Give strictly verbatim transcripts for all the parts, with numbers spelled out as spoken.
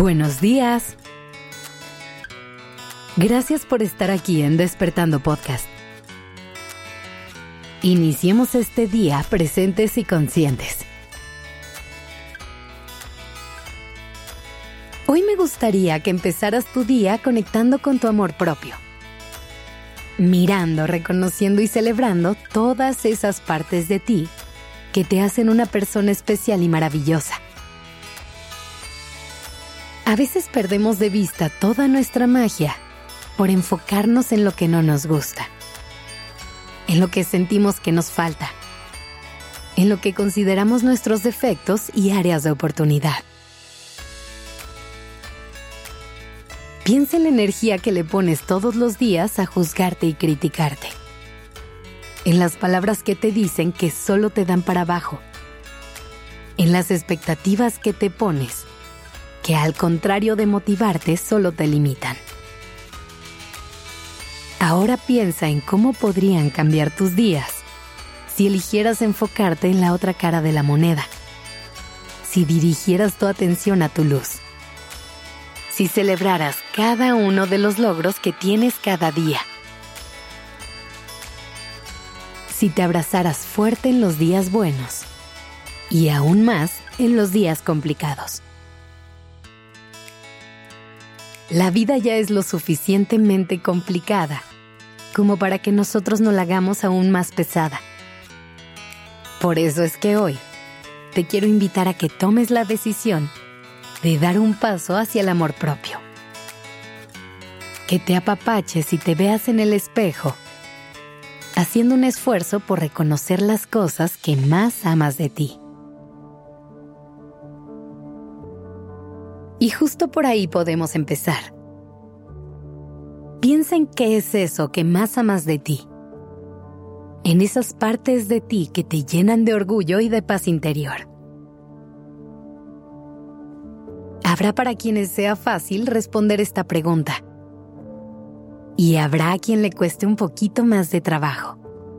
Buenos días. Gracias por estar aquí en Despertando Podcast. Iniciemos este día presentes y conscientes. Hoy me gustaría que empezaras tu día conectando con tu amor propio. Mirando, reconociendo y celebrando todas esas partes de ti que te hacen una persona especial y maravillosa. A veces perdemos de vista toda nuestra magia por enfocarnos en lo que no nos gusta, en lo que sentimos que nos falta, en lo que consideramos nuestros defectos y áreas de oportunidad. Piensa en la energía que le pones todos los días a juzgarte y criticarte, en las palabras que te dicen que solo te dan para abajo, en las expectativas que te pones, que al contrario de motivarte, solo te limitan. Ahora piensa en cómo podrían cambiar tus días si eligieras enfocarte en la otra cara de la moneda, si dirigieras tu atención a tu luz, si celebraras cada uno de los logros que tienes cada día, si te abrazaras fuerte en los días buenos y aún más en los días complicados. La vida ya es lo suficientemente complicada como para que nosotros no la hagamos aún más pesada. Por eso es que hoy te quiero invitar a que tomes la decisión de dar un paso hacia el amor propio. Que te apapaches y te veas en el espejo, haciendo un esfuerzo por reconocer las cosas que más amas de ti. Y justo por ahí podemos empezar. Piensa en qué es eso que más amas de ti. En esas partes de ti que te llenan de orgullo y de paz interior. Habrá para quienes sea fácil responder esta pregunta. Y habrá a quien le cueste un poquito más de trabajo.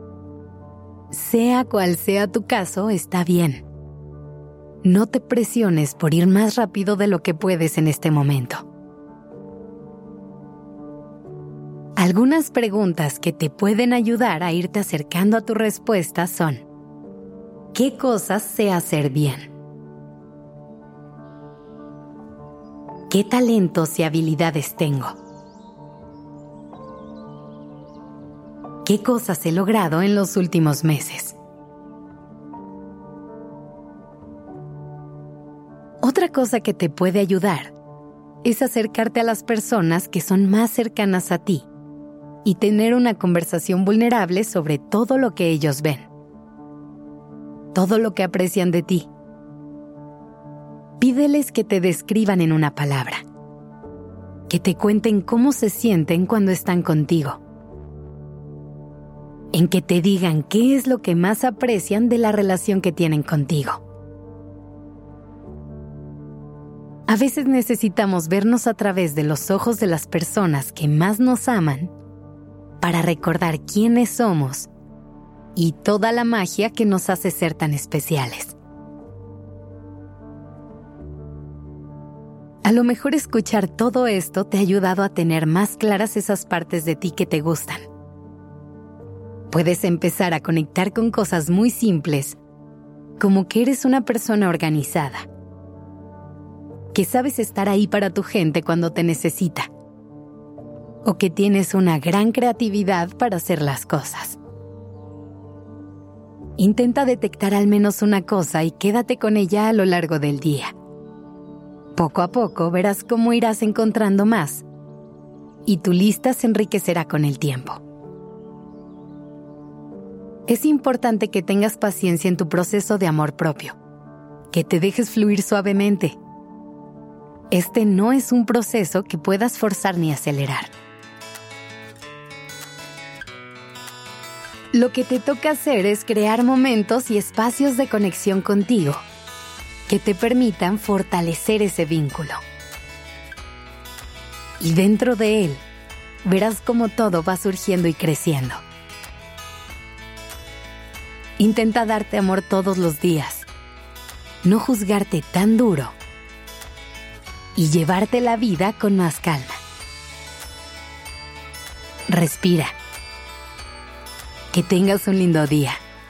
Sea cual sea tu caso, está bien. No te presiones por ir más rápido de lo que puedes en este momento. Algunas preguntas que te pueden ayudar a irte acercando a tu respuesta son: ¿qué cosas sé hacer bien? ¿Qué talentos y habilidades tengo? ¿Qué cosas he logrado en los últimos meses? Otra cosa que te puede ayudar es acercarte a las personas que son más cercanas a ti y tener una conversación vulnerable sobre todo lo que ellos ven, todo lo que aprecian de ti. Pídeles que te describan en una palabra, que te cuenten cómo se sienten cuando están contigo, en que te digan qué es lo que más aprecian de la relación que tienen contigo. A veces necesitamos vernos a través de los ojos de las personas que más nos aman para recordar quiénes somos y toda la magia que nos hace ser tan especiales. A lo mejor escuchar todo esto te ha ayudado a tener más claras esas partes de ti que te gustan. Puedes empezar a conectar con cosas muy simples, como que eres una persona organizada, que sabes estar ahí para tu gente cuando te necesita, o que tienes una gran creatividad para hacer las cosas. Intenta detectar al menos una cosa y quédate con ella a lo largo del día. Poco a poco verás cómo irás encontrando más, y tu lista se enriquecerá con el tiempo. Es importante que tengas paciencia en tu proceso de amor propio, que te dejes fluir suavemente. Este no es un proceso que puedas forzar ni acelerar. Lo que te toca hacer es crear momentos y espacios de conexión contigo que te permitan fortalecer ese vínculo. Y dentro de él, verás cómo todo va surgiendo y creciendo. Intenta darte amor todos los días, no juzgarte tan duro y llevarte la vida con más calma. Respira. Que tengas un lindo día.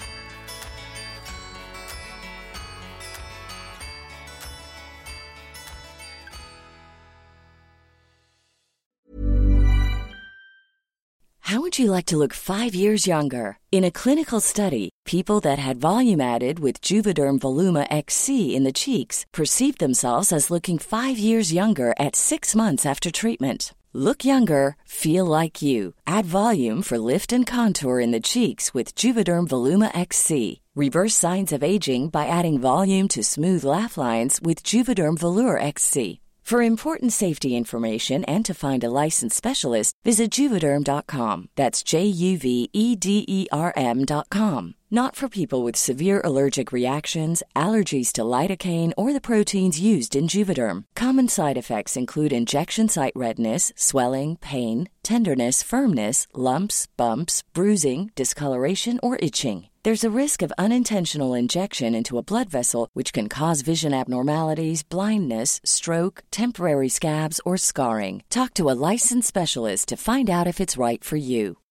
How would you like to look five years younger? In a clinical study, people that had volume added with Juvederm Voluma X C in the cheeks perceived themselves as looking five years younger at six months after treatment. Look younger, feel like you. Add volume for lift and contour in the cheeks with Juvederm Voluma X C. Reverse signs of aging by adding volume to smooth laugh lines with Juvederm Volure X C. For important safety information and to find a licensed specialist, visit Juvederm dot com. That's J U V E D E R M dot com. Not for people with severe allergic reactions, allergies to lidocaine, or the proteins used in Juvederm. Common side effects include injection site redness, swelling, pain, tenderness, firmness, lumps, bumps, bruising, discoloration, or itching. There's a risk of unintentional injection into a blood vessel, which can cause vision abnormalities, blindness, stroke, temporary scabs, or scarring. Talk to a licensed specialist to find out if it's right for you.